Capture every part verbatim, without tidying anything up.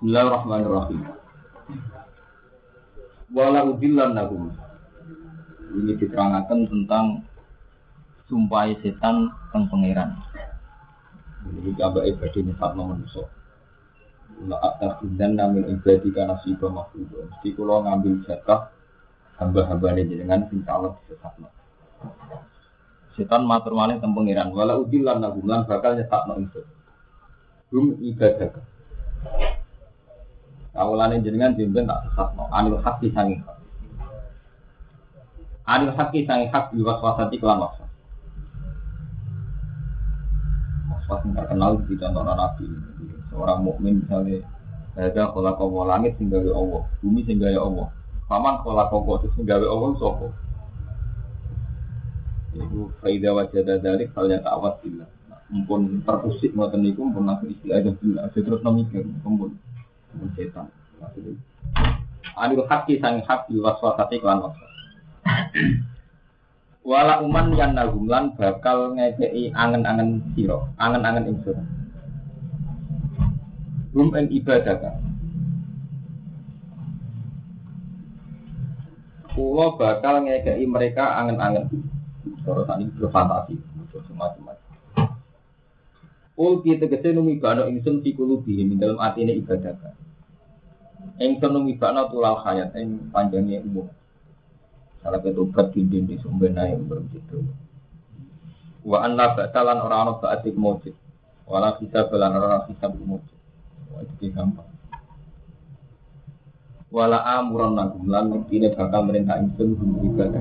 Bismillahirrahmanirrahim. Wala udillannahum. Ini diterangkan tentang sumpah setan teng pangeran. Ini gambar ibadah nyifat manusia. La atas dan namin ibadah karena sibah makhluk. Mesti kalau ngambil zakah hamba-hambane jenengan sing salah disesatno. Setan matur malih teng pangeran. Wala udillannahum lan bakal nyetakno ingsun. Hum ibadah. Awalane jenengan jemben tak sesatno anil hati sangi hak. Anil hati sangi hak diwaswasati kelan waswas. Waswas yang terkenal di contoh Nabi. Seorang mukmin misalnya ada khalaqa wa langit sing gawe Allah, bumi sing gawe Allah. Paman khalaqa wa sing gawe Allah sapa? Iku faida wajada dzalik fal yata'awwad billah. Mumpun terusik ngoten niku mumpun langsung istilah billah terus mikir mumpun setan. Adil haki sang hak diwaswasati kelan waswas. Wala uman yang nagumlan bakal ngekei angen-angen siro, angen-angen insur. Rum en ibadah kan. Kulo bakal ngekei mereka angen-angen. Terus ini berfantasi, semacam-macam. Ul kita kesini numibano insun sikulubi dalam artinya ibadah kan. Engson numibana tulal hayat eng panjangnya umur. Salah ketupat dinding di sumber naik begitu. Wa anna batalan orang-orang baatik mujid. Wala kita belan orang hisab mujid. Wah itu gampang. Wala amuran nagumlan ini bakal merintah engson ibadah.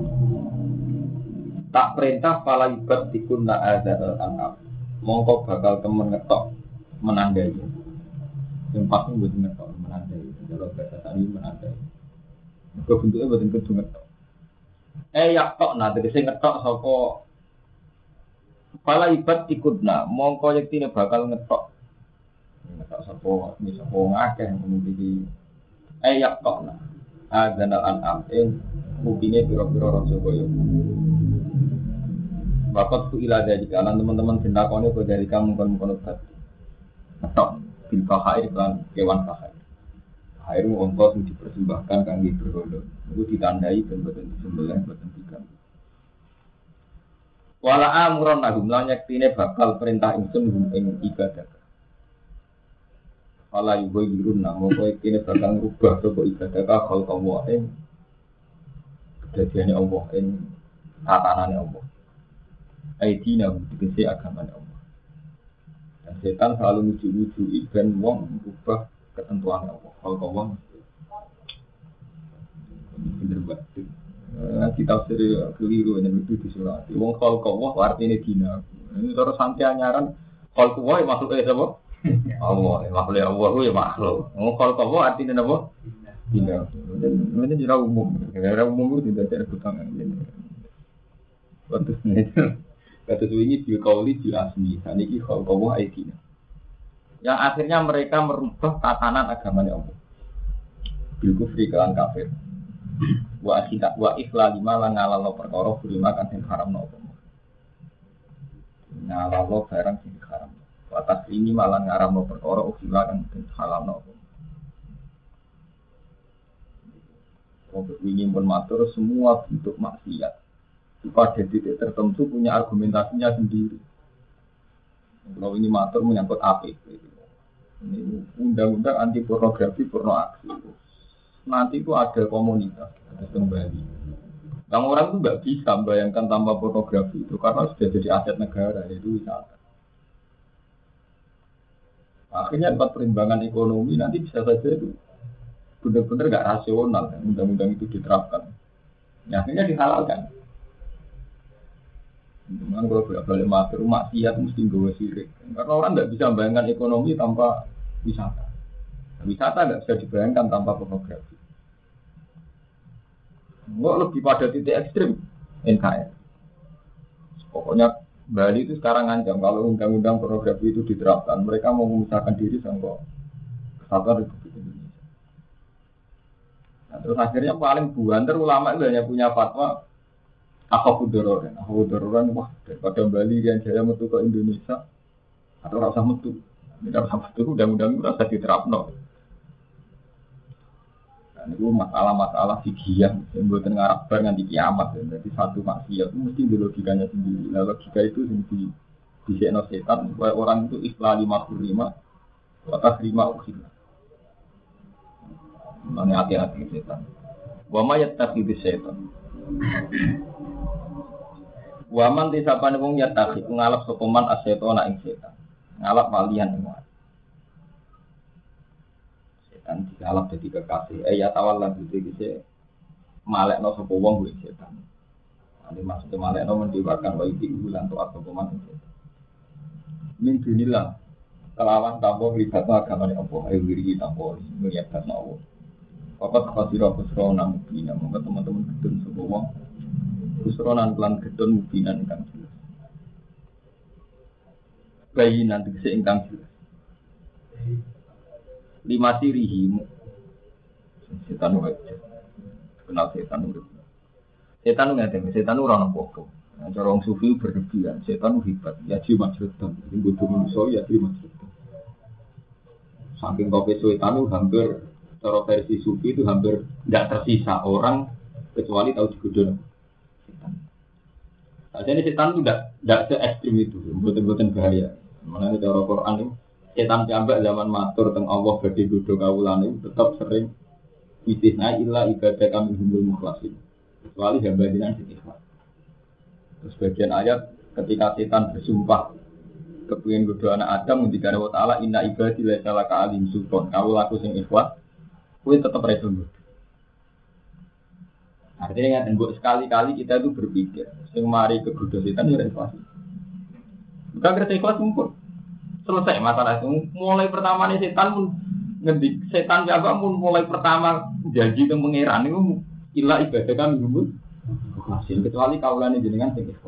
Tak perintah pala ibad dikunna azal al-anam. Mongko bakal temen ngetok menandai. Yang pasti buat ngetok menandai. Kalau bahasa tadi menandai. Kebentuknya buat ngetok. Eh yak tok nah tegese ngetok sapa pala ibad ikutna mongko yektine bakal ngetok. Ngetok sapa iki sapa ngakeh ngomong eh yak tok nah. Adzanal an'am ing mungkine pira-pira raja kaya. Bapak tu ila dari kanan teman-teman sendakone kok dari kamu kon-kon tadi. Ngetok bil fahair lan kewan fahair. Air ongkos yang dipersembahkan kangge berhala. Itu ditandai dan boten disembelih boten digan. Wala amuran nagum lan yektine bakal perintah ingsun ing ibadah. Wala yubayyirun namo kowe yektine bakal ngrubah sapa ibadah ka khalqallah ing kedadiane Allah ing tatanane Allah. Aidina tegese agamane Allah. Dan setan selalu nuju-nuju ben wong ngrubah ketentuan Allah. Kalau kawan, bener banget. Kita seri keliru yang itu di surat. Wong kalau kawan artinya dina. Ini terus santai anyaran. Kalau kawan makhluk eh apa? Allah, makhluk Allah itu ya makhluk. Wong kalau kawan artinya apa? Dina. Ini jera umum. Jera umum itu tidak ada ketangan. Waktu ini, kata ini dikauli diasmi. Ini kalau kawan artinya. Yang akhirnya mereka merubah tatanan agamanya Allah. Bil kufri kelan kafir. Wa akhirnya wa ikhlal lima lan ngalalo perkara lima kan sing haramno apa. Ngalalo barang sing haram. Wa atas ini malah ngaramno perkara ukhila kan sing halalno apa. Untuk ini pun matur semua bentuk maksiat pada titik tertentu punya argumentasinya sendiri. Kalau ini matur menyangkut A P P. Ini undang-undang anti pornografi porno aksi. Nanti itu ada komunitas, ada kembali. Kamu orang itu nggak bisa bayangkan tanpa pornografi itu karena sudah jadi aset negara, yaitu wisata. Akhirnya tempat perimbangan ekonomi nanti bisa saja itu benar-benar nggak rasional. Undang-undang itu diterapkan. Ya, akhirnya dihalalkan. Cuman kalau balik matur maksiat mesti gawe sirik. Karena orang tidak bisa membayangkan ekonomi tanpa wisata. Wisata tidak bisa dibayangkan tanpa pornografi. Enggak lebih pada titik ekstrim N K R. Pokoknya Bali itu sekarang ngancam kalau undang-undang pornografi itu diterapkan, mereka mau memisahkan diri sama kesatuan Republik Indonesia. Nah, terus akhirnya paling buanter ulama itu hanya punya fatwa Aku Dororan, aku Dororan, wah daripada Bali yang jaya metu ke Indonesia atau rasa metu, tidak rasa metu, undang-undang itu rasa diterapno. Itu masalah-masalah fikih yang mboten ngarep bar nganti kiamat. Jadi satu maksiat itu mesti di logikanya sendiri. Nah, logika itu sendiri disekno setan supaya orang itu ikhlas lima puluh lima atas lima ukhil. Mana hati-hati setan. Wa ma yattakhidhu setan. Wa man disapane wong yattakhidhu ngalap sapa man as-setana ing setan. Ngalap walian ing kan dialap jadi kekasih. Eh ya tawallan gitu gitu. Malekno sapa wong kuwi setan. Ane maksudnya malekno mendewakan wa iki bulan to apa peman itu. Min dunillah. Kelawan tampo libat agamane apa ayo wiri tampo ngelihat Allah. Papat khasira khusra nang bina monggo teman-teman gedun sapa wong. Khusra nan lan gedun mubinan kan. Bayi nanti seingkang jelas. Lima sirihi setan wajib kenal setan urip setan nggak setan orang apa-apa cara orang sufi berlebihan setan hebat ya jiwa majrutan ini butuh manusia ya jiwa majrutan saking kopi setan itu hampir cara versi sufi itu hampir tidak tersisa orang kecuali tahu digodol setan saja ini setan itu tidak tidak se ekstrim itu buatan-buatan bahaya mana cara Quran itu setan jambak zaman matur teng Allah badhe godho kawulane tetap sering istisna illa ibadah kami humul mukhlasin kecuali hamba jenengan sing ikhlas. Terus bagian ayat ketika setan bersumpah kepengin godho anak Adam ngendikane wa taala inna ibadi la salaka alim sultan kawulaku sing ikhlas kuwi tetep reso godho. Artinya kan sekali-kali kita itu berpikir sing mari ke godho setan ya ikhlas. Bukan kerja ikhlas mumpun. Selesai masalah itu. Mulai pertama nih setan pun ngedik setan jaga pun mulai pertama janji ke pangeran itu ilah ibadah kami dulu. Masih kecuali kaulan jenengan sing ikhlas.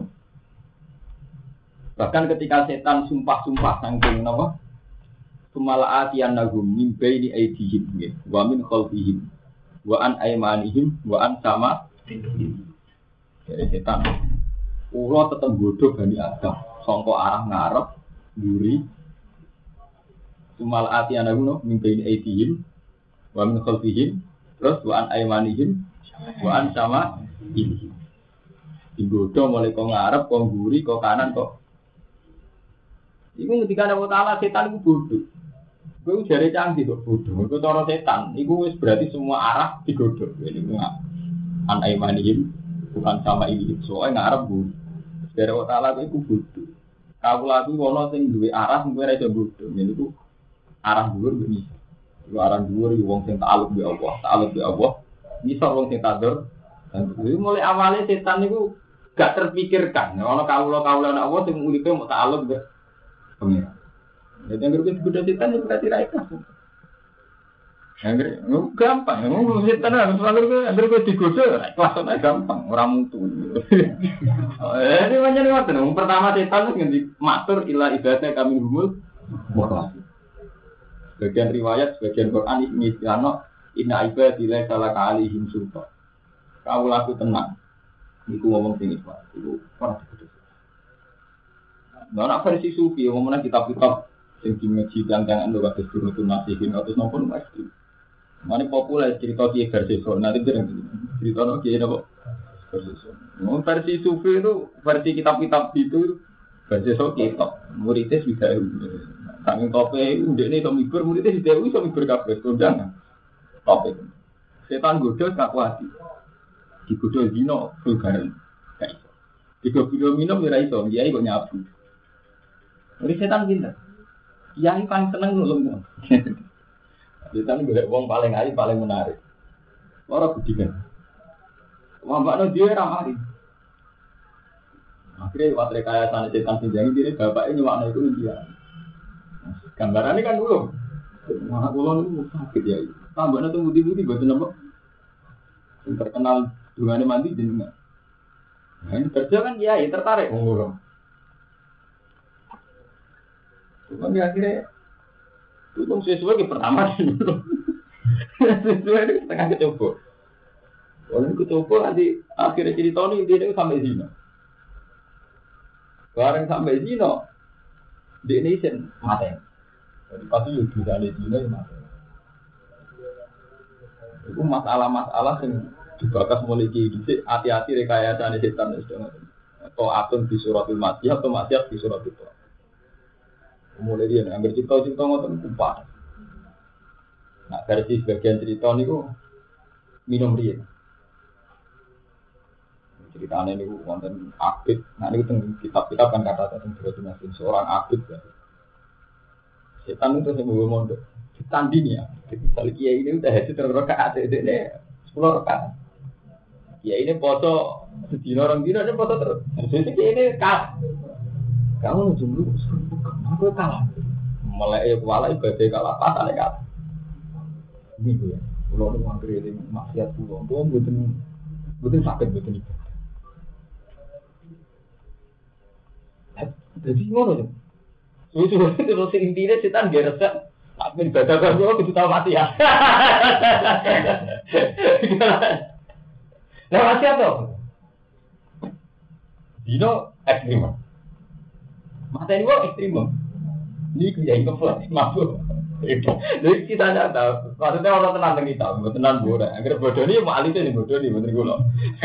Bahkan ketika setan sumpah-sumpah saking napa? Sumalaatian nagum min baini aidihim wa min khalfihim wa an aymanihim wa an sama dari setan. Ulo tetep bodoh Bani Adam sangka arah ngarep mburi Sumal ati ana guna mimpi aidihim wa min khalfihim terus wa an aymanihim wa an sama ini. Digodho mulai kok ngarep kok mburi kok kanan kok. Iku ketika ana taala setan iku bodoh. Kowe jare canggih kok bodoh. Iku cara setan iku wis berarti semua arah digodho. Ini an aymanihim bukan sama ini. Soale ngarep bu. Jare taala iku bodoh. Kawula kuwi ana sing duwe arah sing kowe ora iso bodoh. Niku arah dhuwur bisa. Lu arah dhuwur wong sing ta'aluk be Allah, ta'aluk be Allah. Bisa wong sing tadur. Dan mulai awalnya setan niku gak terpikirkan. Ono kawula-kawula ana Allah sing uripe mau ta'aluk be pengira. Jadi yang berikut kuda setan itu berarti ra ikhlas. Angger gampang, ngomong setan harus selalu angger kok digoda ikhlas ae gampang, ora mutu. Eh ini pancen ngoten. Pertama setan ngendi matur ila ibadah kami humul mukhlas. Bagian riwayat, bagian Quran ini istilahnya inna ibadi la salaka alaihim sultan. Kau laku tenang. Iku ngomong sing ikhlas. Iku ora digodhog. Nah, nak versi sufi ngomongna kitab-kitab sing dimeji tang-tangan lho kados Durratun Nasihin atau napa mesti. Mane populer cerita Ki Garseso. Nanti dereng cerita no Ki napa Garseso. Mau versi sufi itu versi kitab-kitab itu Garseso kitab. Muridnya sudah Sangin tope udah nih kami ber muridnya di dewi kami berkabeh kondangan tope setan godo tak kuati di godo zino vulgaran kayak di godo minum ya iso dia kok nyabu dari setan pinter yang paling seneng nulung setan gue uang paling ayu paling menarik orang budikan wambakno dia ramari akhirnya waktu kaya sana setan pinjang ini bapaknya nyewakno itu dia gambarannya kan dulu, maka kulon itu sakit ya. Tambahnya tuh budi-budi buat nama terkenal dengan mandi jenengan. Nah ini kerja kan ya, tertarik ngurung. Cuma akhirnya itu dong sesuai ke pertama dulu. Sesuai itu setengah kecoba. Kalau ini kecoba nanti akhirnya cerita ini dia sampai zina. Bareng sampai zina, di ini sen mati. Jadi pasti juga bisa ada zina yang mati. Itu masalah-masalah yang dibakas mulai gini. Hati-hati rekayasa ini setan itu. Atau atun di suratul Makkiyah atau Makkiyah di suratul Toha. Mulai dia ambil cerita-cerita ngoten kumpah. Nah versi sebagian cerita ini ku minum dia. Ceritanya ini ku konten abid. Nah ini tentang kitab-kitab kan kata tentang berarti seorang abid. Ya. Setan itu semua mondok. Ditanding ya. Misalnya kiai ini udah hasil terrokaat itu ini sepuluh rokaat. Kiai ini foto sedina orang dina ada foto terus. Jadi kiai ini kalah. Kamu jumlah aku kalah. Mulai kuala ibadah kalah pas ada kalah. Ini ya. Pulau itu mangkir ini maksiat pulau. Pulau betul betul sakit betul itu. Jadi ngono tuh. Lucu terus intinya setan dia resep. Tapi ibadah kan gua kudu tahu mati ya. Nah mati apa? Dino ekstrim. Mata ini gua ekstrim. Ini kerja yang kepala mabuk. Jadi kita tidak tahu. Maksudnya orang tenang dengan kita, tenang bodoh. Agar bodoh ini mau alih ini bodoh ini bener gula.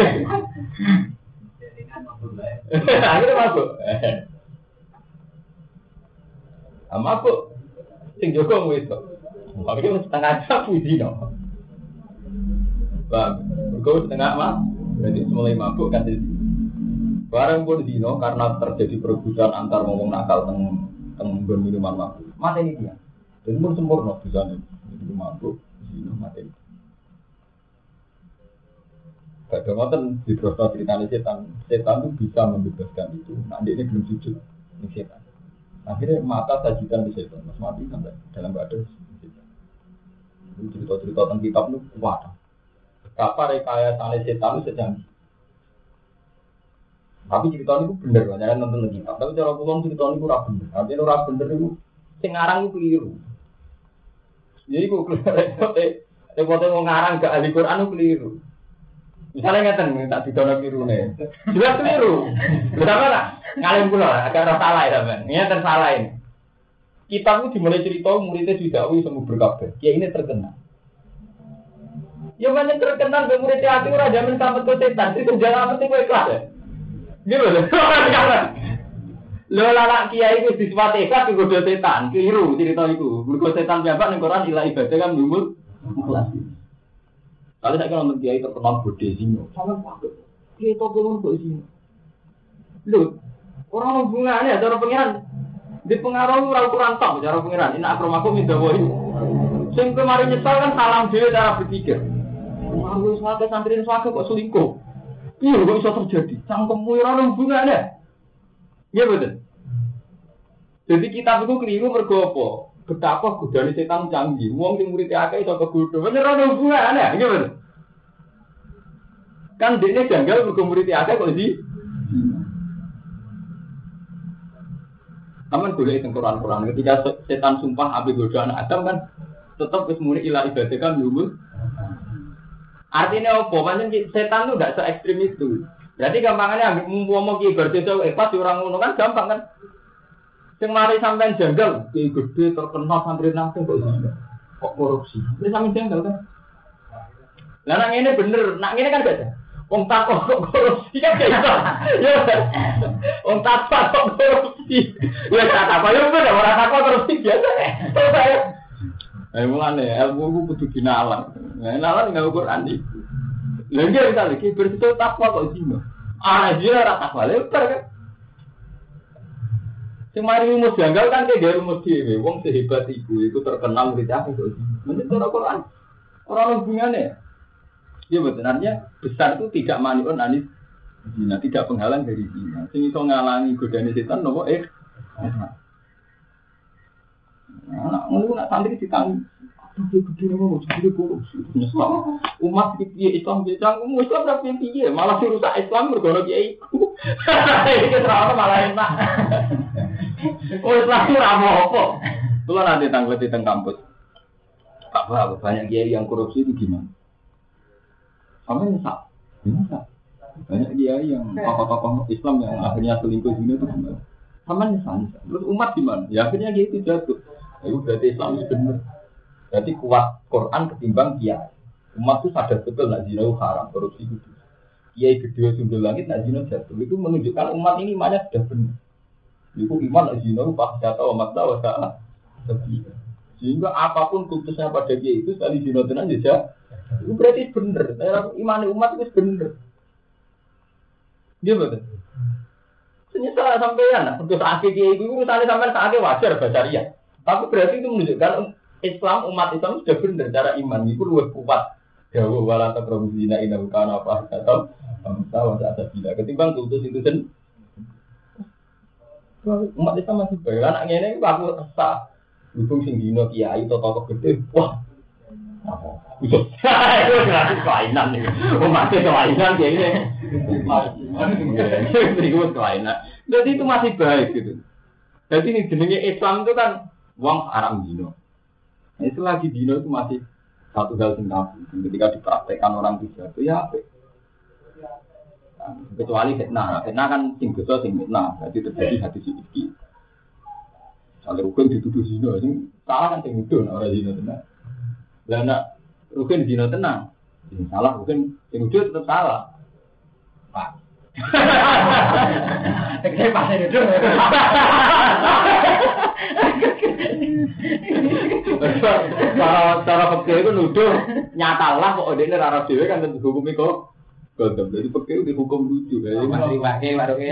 Akhirnya mabuk. Mabuk. Sing Joko wis kok. Tapi setengah jam puji no. Bang, kau setengah mah, berarti mulai mabuk kan jadi. Barang pun dino karena terjadi perebutan antar ngomong nakal teng teng minuman mabuk. Mati ini dia. Jadi pun sempurna bisa nih. Jadi mabuk, dino mati. Gak ada ngoten di proses ceritanya setan. Setan itu bisa membebaskan itu. Nah dia ini belum sujud ini setan. Akhirnya mata sajikan di setan, mas mati sampai dalam badan. Cerita-cerita tentang kitab itu kuat. Betapa rekayasa setan itu sejanji. Tapi cerita itu benar, jangan nonton kitab. Tapi cara pulang cerita itu ora bener. Artinya ora bener itu, sing ngarang itu keliru. Jadi kok repot, repotnya mau ngarang ke ahli Quran itu keliru. Misalnya ngeten, tak didono keliru nih. Jelas keliru. Betapa lah. Ngalim pula, agak salah ya teman. Ini tersalah ini. Kitab itu dimulai cerita muridnya didakwi semua berkabeh. Ya ini terkenal. Ya mana terkenal ke muridnya hati ora jamin sampai ke setan. Itu jangan mesti kowe ikhlas ya. Gitu loh. Lho lalak kiai itu disifati ikhlas digoda setan. Keliru cerita itu. Mergo setan piyambak ning Quran ilah ibadah kan lumut ikhlas. Kalau saya kalau kiai terkenal bodhe sino. Sampe pakai. Kiai to belum kok sino. Lho orang hubungannya, cara pengiran di pengaruh orang kurang top cara pengiran. Ini akromaku minta boy. Sing kemarin nyesal kan salam dia cara berpikir. Pengaruh suatu santri suatu kok selingkuh. Iya, kok bisa terjadi? Cangkemmu orang hubungannya. Iya betul. Jadi kitab itu keliru mergo apa? Betapa godane setan canggih. Wong sing murid akeh iso kegodho. Bener ana hubungannya. Iya betul. Kan dene janggal mergo murid akeh kok di Taman boleh itu Quran-Quran. Ketika setan sumpah api goda anak Adam kan tetap kesemua ilah ibadah kan dulu. Artinya apa? Macam setan itu tidak se ekstrim itu. Berarti gampangnya ambil ngomong ki ibadah itu eh pas orang ngono kan gampang kan. Sing mari sampean janggal ki gede terkenal santri nang kok kok korupsi. Ini sampean janggal kan. Lah nang ngene bener, nang ngene kan beda. Wong takok kok korupsi kan ya. Ya. Wong takok kok korupsi. Ya tak apa yo bener ora takok korupsi biasa. Eh mulane ilmu ku kudu dinalar. Nah, nalar enggak Quran iki. Lha iki bisa lagi bersito takwa kok sino. Ah dia ora takwa lebar kan. Sing mari rumus janggal kan ke dia rumus dhewe. Wong sehebat iku iku terkenal murid akeh kok. Menurut Quran ora hubungane. Ya benarnya besar itu tidak maniun anis zina, tidak penghalang dari zina. Sing iso ngalangi godane setan nopo eh. Nah, ngono nak santri ditang. Aduh gede nopo gede korupsi. Nyesal. Umat iki Islam iki cang Islam ora piye malah rusak Islam mergo kiai iku. Iki terus malah enak. Oh Islam ora apa. Kulo nanti tangglet teng kampus. Pak Pak banyak kiai yang korupsi itu gimana? Sampai nyesal, nyesal. Banyak kiai yang tokoh-tokoh Islam yang akhirnya selingkuh sini itu gimana? Sama nyesal, nyesal. Terus umat gimana? Ya akhirnya dia itu jatuh. Ya berarti Islam itu benar. Berarti kuat Quran ketimbang kiai. Umat itu sadar betul nak zina itu haram, korupsi itu. Kiai gede sundul langit nak zina jatuh. Itu menunjukkan umat ini imannya sudah benar. Itu iman nak zina itu pas jatuh umat tahu salah. Sehingga apapun kultusnya pada kiai itu sekali zina tenan saja. Itu berarti benar. Iman umat itu benar. Dia betul. Senyata sampean, untuk saat kiai itu misalnya sampean saatnya wajar bacaria. Tapi berarti itu menunjukkan Islam umat Islam sudah benar cara iman itu lebih kuat. Jauh wala taqrabu zina innahu kana fahsyatan wa sa'a bila ketimbang kultus itu sen. Umat Islam masih baik. Anak ngene iki aku resah. Hubung sing dino kiai toto gede. Wah. Itu gratis kelainan nih. Umat kelainan kayak ini. Berikut kelainan. Jadi itu masih baik gitu. Jadi ini jenenge Islam itu kan uang haram dino. Itu lagi dino itu masih satu hal yang tabu. Ketika dipraktekkan orang tiga itu ya apa? Kecuali fitnah. Fitnah kan sing dosa sing fitnah. Jadi terjadi hadis iki. Kalau rukun dituduh zina, sing salah kan sing nuduh ora zina tenan. Lah nek rukun zina tenan, sing salah rukun sing nuduh tetap salah. Pak. Teknik pasti nuduh. Cara cara fikih itu nuduh nyatalah kok dene ora dhewe kan tentu hukum iku gondom. Jadi fikih dihukum lucu. Jadi masih wae waruke.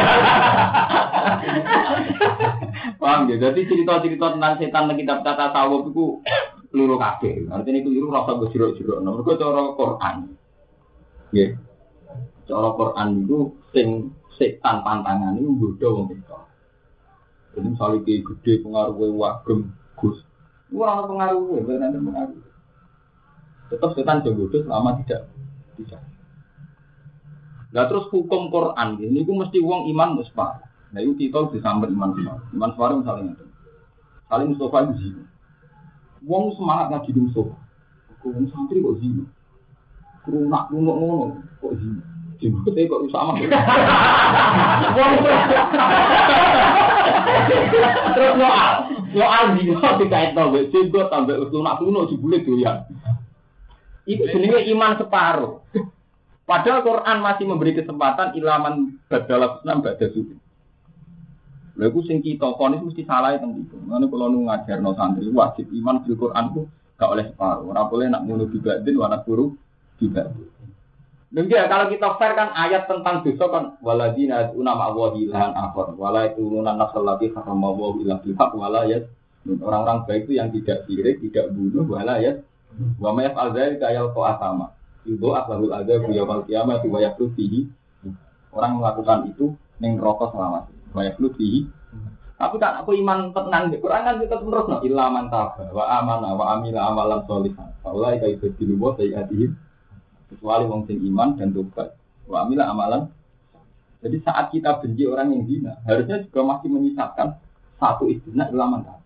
Paham ya? Jadi cerita-cerita tentang setan nang kitab tata tasawuf iku keliru kabeh. Artinya keliru rasa go jero-jero. Mergo cara Quran. Nggih. Cara Quran itu sing setan pantangan iku nggodha wong itu. Jadi misalnya kayak gede pengaruhnya wagem gus, ora ana pengaruhnya, benar benar pengaruh. Tetap setan jodoh selama tidak tidak. Nah terus hukum Quran ini, itu mesti uang iman musfar. Nah itu kita disamber iman musfar. Iman musfar misalnya itu, saling Mustafa itu zina. Uang semangat ngaji di Mustafa. Uang santri kok zina. Kerunak kerunak ngono kok zina. Jenggot saya kok sama. Terus soal, soal zina dikait tambah jenggot tambah kerunak kerunak jebule doyan. Itu jenenge iman separuh. Padahal Quran masih memberi kesempatan ilaman badal enam badal suci. Lha iku sing kita kon itu mesti salah teng iki. Ngono kula nu ngajarno santri wajib iman bil Quran ku gak oleh separuh. Ora boleh nak ngono dibadin wana guru dibadin. Demikian kalau kita fair kan ayat tentang dosa kan waladina una ma'wahi lan akhir wala yaquluna nafsal lati harama wa illa bil haqq wala yas orang-orang baik itu yang tidak sirik, tidak bunuh wala yas wa ma yaf'al dzalika yalqa asama. Itu akhlul adzab yaumil qiyamah wa yaqulu fihi. Orang melakukan itu ning neraka selama wa yaqulu fihi. Tapi kan aku iman tenan di Quran kan kita terus no illa man taba wa amana wa amila amalan sholihan. Wallahi kaifa diluwa sayyi'atihim. Kecuali wong sing iman dan tobat. Wa amila amalan. Jadi saat kita benci orang yang zina, harusnya juga masih menyisakan satu istilah ilaman tadi.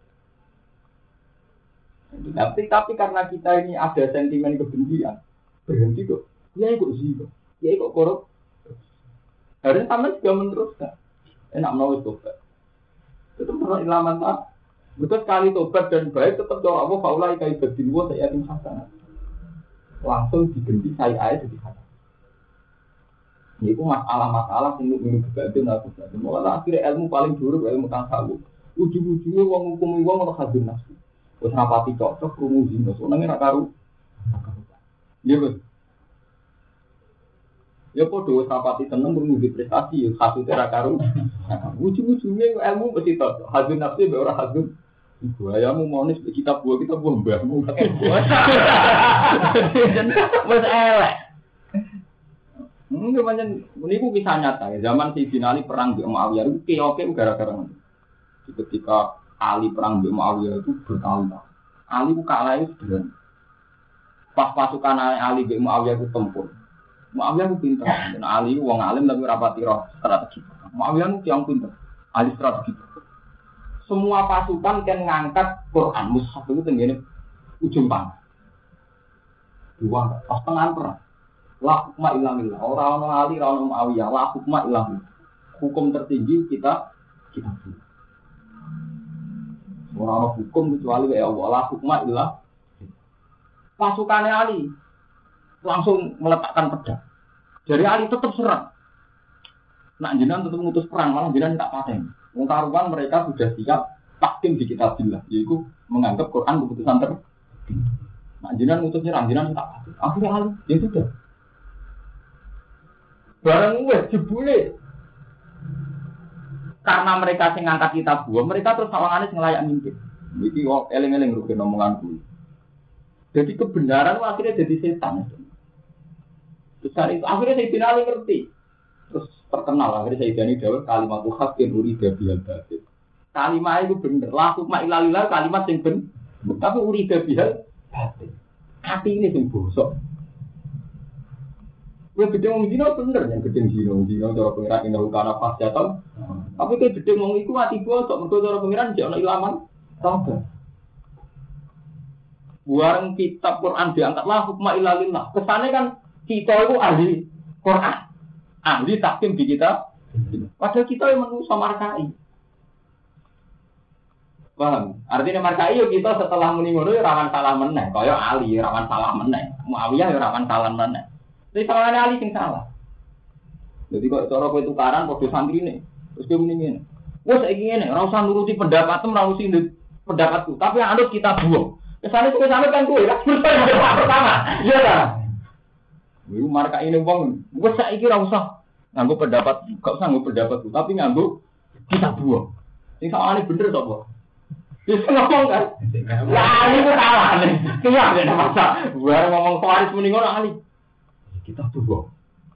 Tapi tapi karena kita ini ada sentimen kebencian, berhenti kok. Ya kok zina. Ya kok korup. Harusnya sama juga meneruskan. Enak menulis tobat. Tetap menulis ilaman tadi. Betul sekali tobat dan baik tetap doa Allah faulai kai berdinwa saya tim hasanah. Langsung diganti saya aja jadi hati. Ini itu masalah-masalah yang minum kebantu aku jadi. Malah akhirnya ilmu paling buruk ilmu tasawuf. Ujung-ujungnya uang hukum uang orang hadun nafsu. Terus rapati cocok rumusin. Terus orangnya nak karu. Iya betul. Ya podo rapati tenang rumusin prestasi. Hasilnya nak karu. Ujung-ujungnya ilmu mesti cocok. Hadun nafsu be orang hadun. Ibu ayahmu monis kitab buah kita buah mbahmu. Mas elek. Mungkin macam ini ku kisah nyata. Zaman si Binali perang di Muawiyah itu keoke gara-gara itu. Ketika Ali perang di Muawiyah itu bertahun-tahun. Ali ku kalah itu sederhana. Pas pasukan Ali di Muawiyah itu tempur. Muawiyah itu pintar. Dan Ali itu wong alim tapi rapati roh strategi. Muawiyah itu yang pintar. Ali strategi. Semua pasukan kan ngangkat Quran mushaf itu tenggene ujung panah. Dua pas tengah perang. La hukma illa billah. Ora ono Ali, ora ono Muawiyah. La hukma illa billah. Hukum tertinggi kita kita. Ora ono hukum kecuali ya Allah. La hukma illa. Pasukannya Ali langsung meletakkan pedang. Dari Ali tetap serang. Nak jenengan tetap mengutus perang, malah jenengan tak paten. Wong karuan mereka sudah siap takdim di kitabillah, yaitu menganggap Quran keputusan tertinggi. Nak jenengan ngutus nyerang, jenengan tak paten. Akhirnya Ali, ya sudah. Barang wes jebule. Karena mereka sing ngangkat kitab buah, mereka terus sawangane sing layak mimpin. Iki kok eling-eling rugi omonganku. Jadi kebenaran akhirnya jadi setan. Terus hari itu akhirnya Sayyidina Ali ngerti. Terus terkenal akhirnya Sayyidina Ali dawuh kalimat haqqin urida bihal batil. Kalimat itu bener. La hukma illa lillah kalimat sing bener. Tapi urida bihal batil. Hati ini sing bosok. Kowe gedhe wong dina bener yang gedhe dina dina cara pengiran indah kana pas jatuh. Tapi kowe gedhe wong iku ati bosok mergo cara pengiran jek ana ilaman. Sabar. Buang kitab Quran diangkatlah hukma illa lillah. Kesane kan kita itu ahli Quran. Ahli tahkim di kita. Padahal kita yang manusia markai. Paham? Artinya markai yo kita setelah muni ngono rawan salah meneh. Kaya Ali rawan salah meneh. Muawiyah yo rawan salah meneh. Tapi salahane Ali sing salah. Jadi kok cara kowe tukaran padha santrine. Terus kowe muni ngene. Wes saiki ngene, ora usah nuruti pendapatmu, ora usah pendapatku, tapi yang anut kita buang. Kesana itu kesana kan gue, kan pertama, iya lah. Ibu marka ini bang, gue saya kira usah nganggu pendapat, gak usah nganggu pendapatku, tapi nganggu kita buang. Ini sama ini bener tak boh? Bisa ngomong kan? Lah ini gue salah nih, kaya ada masa. Gue ngomong Faris mendingan Ali, kita buang.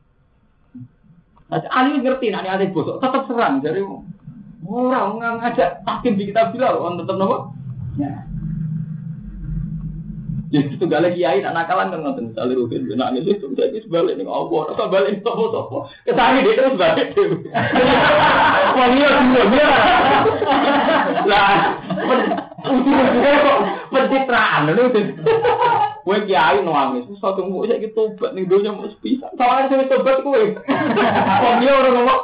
Ali ngerti, nanti Ali bosok, tetap serang dari. Orang ngajak hakim di kitab bilang, orang tetap nama. Ya. Jadi itu gak lagi kiai, nak nakalan kan nonton misalnya Rufin, nangis itu jadi sebalik nih Allah, atau balik sopo sopo, kesana dia terus balik tuh. Wah iya semua dia. Lah, ujung-ujungnya kok pencitraan loh itu. Gue kiai nangis, satu tunggu saya gitu, buat nih dunia mau sepisah. Soalnya saya tobat gue. Wah iya orang ngomong.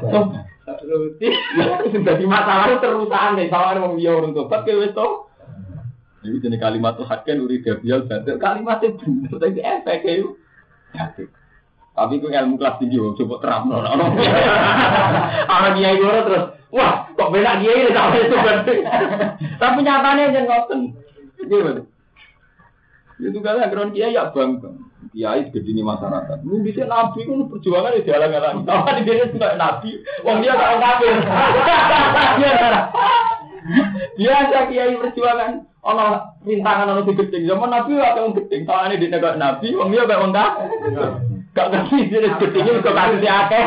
Sudah di masalah terusan nih, soalnya mau dia orang tobat ke wes toh. Jadi jenis kalimat itu hakken uri gabial banget. Kalimat itu benar, tapi efek itu. Tapi itu ilmu kelas tinggi, coba terang no. Orang dia itu terus, wah kok beda dia ini sampai itu penting. Tapi nyatanya jangan ngoten. Gimana? Itu kan ajaran kiai ya bangga. Kiai gede di masyarakat. Lu bisa nabi kan perjuangan di jalan-jalan. Tahu di dia juga nabi. Wong dia orang kafir. Biasa kiai perjuangan. Ono rintangan ono digedeng zaman nabi wae wong gedeng tawane di negara nabi wong liya kok wong ta gak ngerti jenis gedenge kok kasus akeh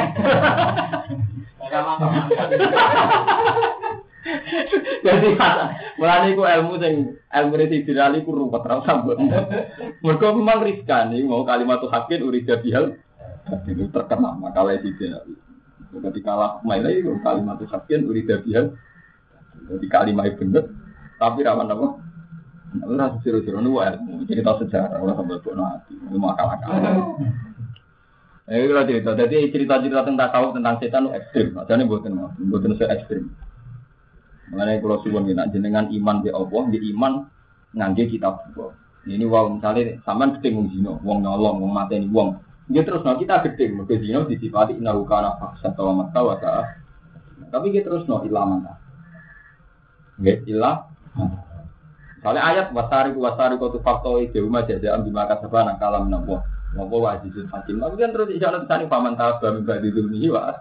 jadi mulane iku ilmu sing ilmu residirali ku ruwet ra sambut mergo memang riskan iki mau kalimat hakin urida bihal itu terkenal makalah residirali ketika kalah maile iku kalimat hakin urida bihal jadi kalimat bener tapi rawan apa? Ora siro-siro nu wae, cerita sejarah ora sampe bono ati, ilmu akal-akal. Eh kalau cerita, jadi cerita-cerita tentang tasawuf tentang setan itu ekstrim, ajane mboten mboten se ekstrim. Mengenai kalau suwun nek jenengan iman di Allah, di iman ngangge kitab Allah. Ini wong misale sampean gedeng wong zina, wong nyolong, wong mateni wong. Nggih terus no kita gedeng mergo zina disifati innahu kana fahsatan wa mata. Tapi kita terus no ilaman ta. Nggih ilah. Soalnya ayat wasari wasari kau tu faktor itu rumah jaja ambil makan sebanyak kalam nabo nabo wajibul hakim. Tapi kan terus isyarat tadi paman tahu kami bagi dunia wah.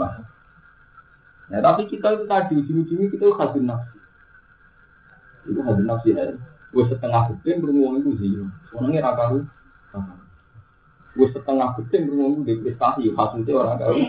Ya tapi kita itu tadi ujung-ujungnya kita hadir nafsi. Itu hadir nafsi ya. Gue setengah gedeng beruang itu sih. Orangnya rakaru. Gue setengah gedeng beruang itu depresi. Hasilnya orang kau.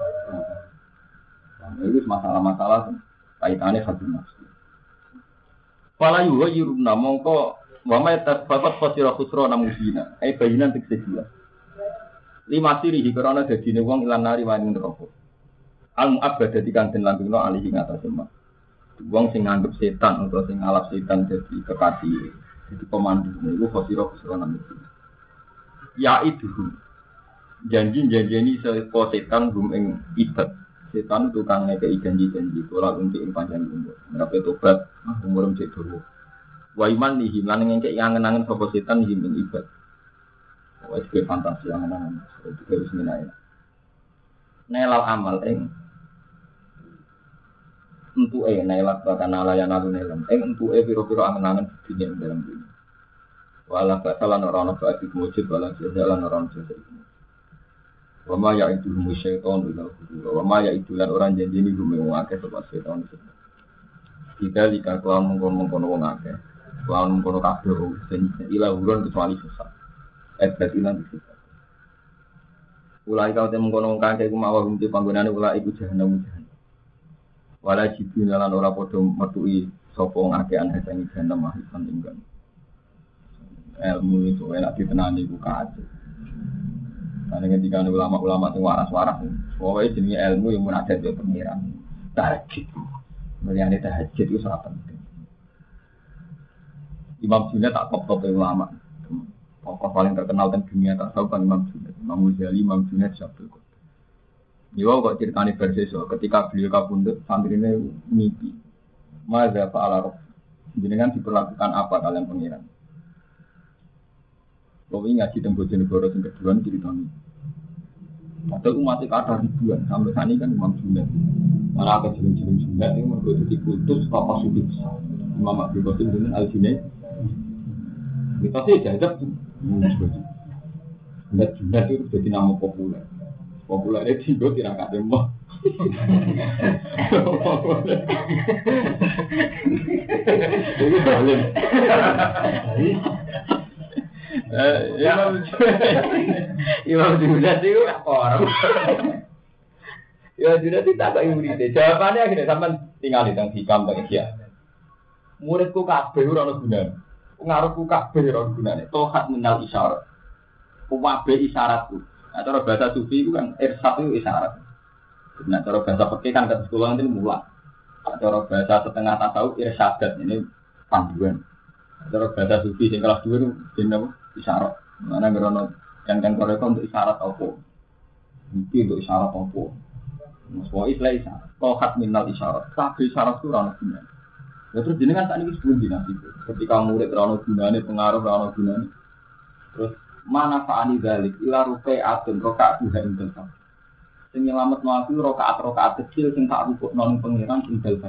Nah itu masalah-masalah kaitannya hadir nafsi. Fala yuwa yuruna mongko wa ma tasfaqat fasira khusrana musina ai bayinan tekse jelas lima sirihi karena dadine wong ilan nari wani neraka al mu'abbad dadi kanten langgengno alihi ngatasé mak wong sing nganggep setan utawa sing ngalap setan dadi kekasih dadi pemandu niku fasira khusrana musina ya itu janji-janjeni sapa setan gum ing ibad setan tukang ngekei janji-janji ora untuk ing panjang umur. Ngrape tobat, umur cek dulu. Wa iman nihi lan ngekei angen-angen sapa setan nihi ing ibad. Wah, itu fantasi yang mana? Itu harus minai. Nelal amal eng. Untuk eh nelal bahkan nalayan nalu nelam. Eng untuk eh piro-piro angen-angen dunia dalam dunia. Walau basalan orang-orang bagi mujib, walau jalan orang jalan. Wama ya itu musyaiton ila guru. Wama ya itu lan orang janji ni gume wong akeh sebab setan itu. Kita jika kelawan mengkono-mengkono wong akeh, kelawan mengkono kabeh sing ila urun kecuali sesat. Ebet ilang kita. Ulai kau temu mengkono wong akeh ku mawa rumti panggonane ulai iku jahanam jahanam. Wala jibril lan ora padha metuki sapa wong akeh ana sing jahanam mahifan tinggal. Ilmu itu enak ditenani ku kaje. Karena ketika ulama-ulama itu waras-waras, pokoknya jenis ilmu yang munajat dia pengiran, tahajud, melihat tahajud itu sangat penting. Imam Junaid tak top-top ulama, tokoh paling terkenal dan dunia tak tahu kan Imam Junaid, Imam Ghazali, Imam Junaid siapa itu? Dia kok ceritanya berseso, ketika beliau kabundut, santrinya mimpi, Mada fa'ala roh, jenengan diperlakukan apa kalian pengiran? Kalau ini ngaji tembok jenegoro yang kedua ceritanya. Padahal umatnya kata ribuan sampai saat ini kan Imam Junaid. Mana ada jenis-jenis Junaid yang mereka diputus papa sufi besar. Imam Abdul Qasim dengan Al Junaid. Kita sih jajak tuh. Junaid Junaid itu jadi nama populer. Populernya tinggal tidak ada mbak. Itu paling. Imam Junaid itu orang. Imam Junaid itu tak kayak murid. Jawabannya akhirnya sampai tinggal di tengah hikam bagi dia. Muridku kabeh ora ono gunane. Ngarepku kabeh ora ono gunane. Tohat minal isyarat. Kuwabe isyaratku. Nah, cara bahasa sufi itu kan irsad itu isyarat. Nah, cara bahasa fikih kan ke sekolah nanti mulak. Cara bahasa setengah tasawuf irsyadat ini panduan. Cara bahasa sufi yang kelas dua itu jenis isyarat. Mana gerono yang kan korek untuk isyarat apa? Mungkin untuk isyarat apa? Semua istilah isyarat. Tohat minal isyarat. Tapi isyarat itu rana guna. Ya terus jenengan tak ini sebelum dinasti itu. Ketika murid rana gunane, pengaruh rana gunane. Terus mana fa'ani dalik ila rupai atun rokaat juga intel kan. Sing nyelamet mati rokaat rokaat kecil sing tak rukuk non pengiran intel kan.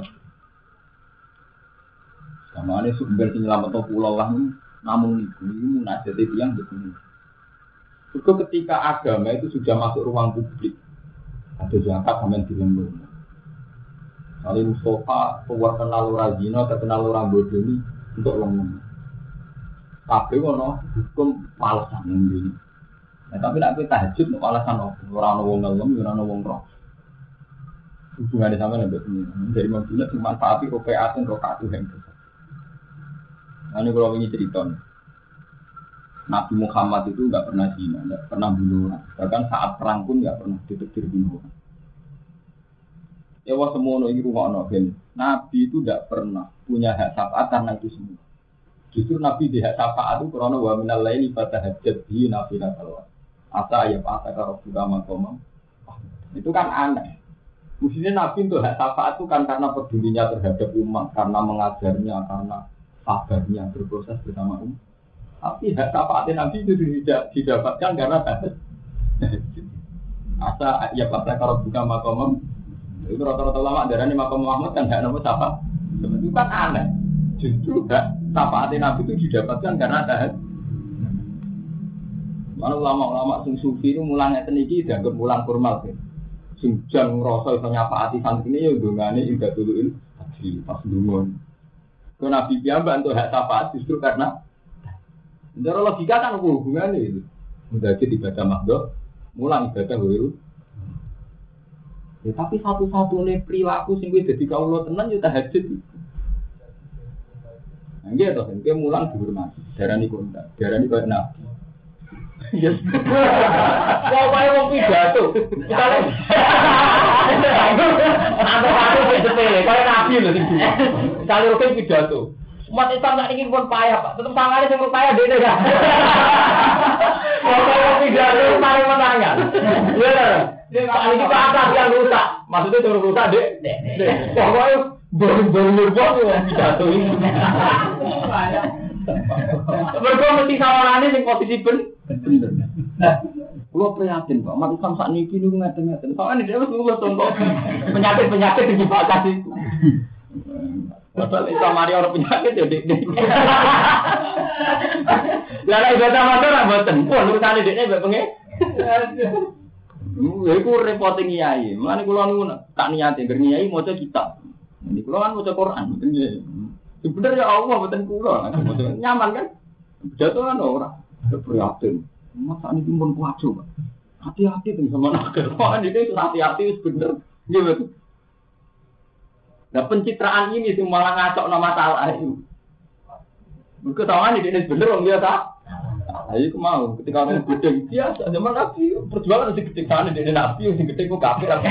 Sama ini sumber sing nyelamet to pulau lah namun ibu ini munajat itu yang begini. Juga ketika agama itu sudah masuk ruang publik, ada zakat sama di lembur. Kali Mustafa keluar kenal orang zina, terkenal orang bodoh ini untuk lembur. Tapi kono hukum alasan ini. Nah, tapi nak kita tahajud untuk alasan apa? Orang wong ngelem, orang wong roh. Hubungannya sama dengan ini. Dari maksudnya dimanfaati rokaat dan rokaat itu yang besar. Nah, ini kalau ini cerita. Nabi Muhammad itu nggak pernah zina, nggak pernah bunuh orang. Bahkan saat perang pun nggak pernah ditetir bunuh orang. Ewa semono ini rumah Nabi. Nabi itu nggak pernah punya hak syafaat karena itu semua. Justru Nabi di hak syafaat itu karena wa minal laili fatahajjat bihi nafilatan. Asa ayat asa karo agama komam. Itu kan aneh. Mestinya Nabi untuk hak syafaat itu kan karena pedulinya terhadap umat, karena mengajarnya, karena sabarnya berproses bersama umat. Tapi hak syafaatnya Nabi itu tidak didapatkan karena tahajud. Asa ayat asa karo agama komam. Itu rata-rata ulama darahnya Makam Muhammad kan hak nama syafaat. Itu kan aneh. Justru hak syafaat Nabi itu didapatkan karena tahajud. Mana ulama-ulama sing sufi itu mulangnya teniki dianggap mulang formal kan. Sing jan ngrasa iso nyafaati santri ya dongane indah duluin haji pas dungon. Kok Nabi piyambak untuk hak syafaat justru karena secara logika kan hubungannya itu. Mudah aja dibaca makdo, mulang ibadah wiru. Ya, tapi satu-satunya perilaku sing kuwi dadi kawula tenan yo tahajud. Nggih to, nggih mulang dihormati. Darani kontak, darani koyo nabi. Yes. Wah, wae wong pidato. Ando-ando wis sepele, koyo nabi lho sing dulu. Kali rutin pidato. Umat Islam nek ingin pun payah, Pak. Tetep sangane sing payah dene kan. Wong wong pidato paling menangan. Iya lho. Dia kali iki apa yang rusak? Maksudnya turun rusak, Dek. Pokoke baru-baru nyerbon yang pidato ini. Mereka mesti sawangannya yang posisi ben bener. Kulo prihatin Pak, umat Islam sak niki niku ngaten-ngaten. Soale dhewe wis lulus contoh penyakit-penyakit iki Pak kasih. Padahal Islam mari ora penyakit ya Dik. Lah nek ibadah motor ra mboten. Wah, urusane dekne mbek pengen. Ya iku repote kiai. Mulane kula niku tak niate ngger kiai maca kitab. Ini kula kan maca Quran, mboten nggih. Bener ya Allah mboten kula. Nyaman kan? Jatuh kan ora. Prihatin. Masa ini pun kuacu, Pak. Hati-hati tuh sama nakal. Wah, ini hati-hati wis bener. Nggih, betul. Nah, pencitraan ini sih malah ngacok nama masalah itu. Mereka tahu ini bener wong biasa. Ayo aku mau ketika orang gede biasa zaman Nabi perjuangan masih gede kan ini Nabi yang gede kok kafir aja.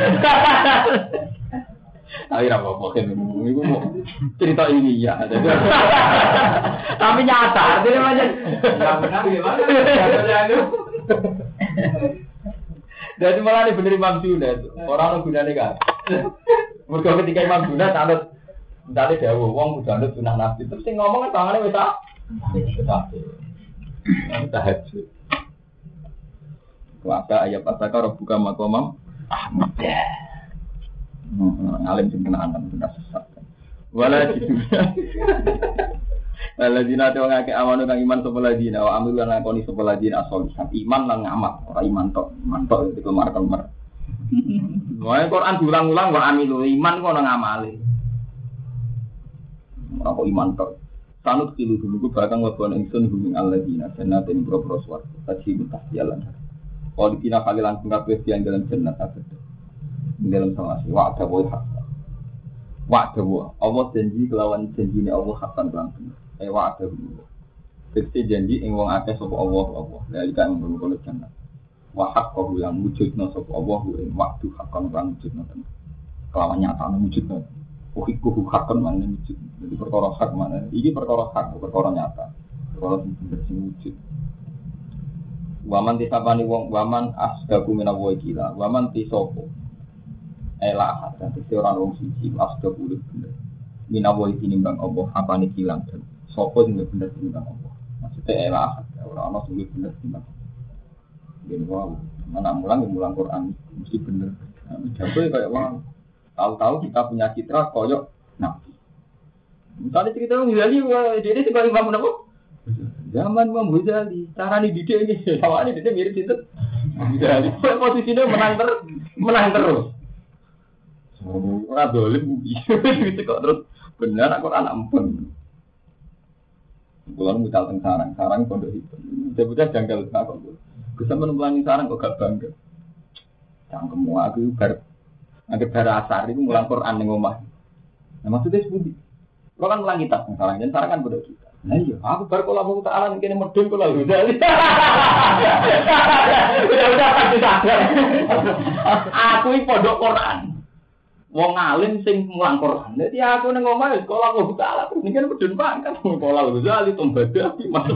Ayo apa mungkin itu mau cerita ini ya. Tapi nyata artinya macam nggak benar gimana? Jadi malah ini bener Imam Junaid orang gunanya kan. Mereka ketika Imam Junaid anut misalnya dawuh wong udah anut sunah Nabi terus sing ngomong kan tangannya wis tak. Tahajud. Kuasa ayat pasaka buka makomam Ahmad. Alim sing kena antem sudah sesat. Wala gitu. Waladina te wong akeh amanu kang iman sapa ladina wa amil lan lakoni sapa ladina asolihan iman lan ngamal ora iman tok iman tok itu kemar-kemar. Wae Quran diulang-ulang wa amilu iman kok ana ngamale. Ora kok iman tok. Sanut kilu dulu bakal ngobon ingsun hubung alladzina jannatin pro-pro swarga tajib tahjalan. Kalau dikira kali langsung kabeh yang dalam jannat ada. Dalam sama si wa'da wa hak. Wa'da wa Allah janji kelawan janjine Allah hakan langsung. Eh wa'da wa. Tekse janji ing wong akeh sapa Allah Allah. Lha iki kan ngono jannat. Wa haqqahu yang wujudna sapa Allah ing waktu hakan lan wujudna. Kelawan nyatane wujudna. Uhiku hakan mana wujud. Jadi perkara hak mana? Iki perkara hak, perkara nyata. Perkara sing sing wujud. Waman tisapani wong waman asdaku menawa gila. Waman tisopo. Elah dan tisi orang wong siji asdaku bener. Menawa iki nimbang Allah apane kilang dan sopo sing bener nimbang Allah. Maksudnya elah ora ana sing bener nimbang. Yen wae mana mulang mulang Quran mesti bener. Jago kayak wong tahu-tahu kita punya citra koyok Nabi. Misalnya cerita Imam Ghazali, dia ini sebagai imam apa? Zaman Imam Ghazali, cara nih didik ini, awalnya didik mirip itu. Ghazali, posisinya menang terus, menang terus. Orang dolim, gitu kok terus benar aku anak empun. Pulang mucal teng sarang, sarang pondok itu. Sebutnya janggal kok. Bisa menempulangi sarang kok gak bangga. Cangkemmu aku bar Angger bara asar itu mulang Quran ning omah. Nah maksudnya sepundi? Kalau kan mulang kitab misalnya, dan sarangan pada kita. Nah iya, aku bar kula mau ta'ala kene medun kula lho. Udah udah pasti sadar. Aku iki pondok Quran. Wong alim sing mulang Quran. Dadi aku ning omah wis kula mau ta'ala terus niki medun pangkat kula lho jali tombadah masuk.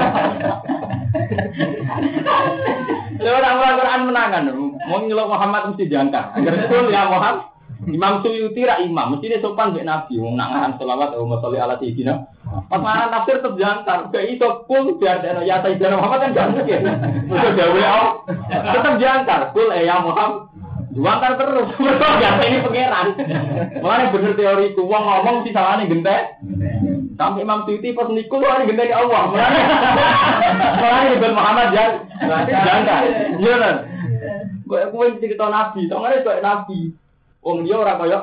Lha ora Quran menangan. Mau nyelok Muhammad mesti diangkat. Agar betul ya Muhammad. Imam Suyuti ra imam, mesti sopan mbek Nabi. Wong nak ngaran selawat Allahumma sholli ala sayyidina. Pas mana tafsir tetep diangkat. Gak iso pun biar ya sayyidina Muhammad kan gak mungkin. Mesti dawuh Allah. Tetep diangkat. Kul ya Muhammad. Diangkat terus. Mergo gak ini pangeran. Mulane bener teoriku wong ngomong mesti salahane gentek. Sampai Imam Suyuti pas niku lho gentek Allah. Mulane mulane Ibnu Muhammad jan. Diangkat. Iya kan? Gue gue cerita Nabi, soalnya kayak Nabi. Wong dia orang kayak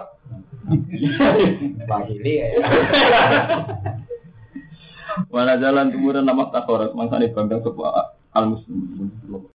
Bahili ya. Mana jalan kemudian nama takorat, mangsane bangga sebuah al muslim.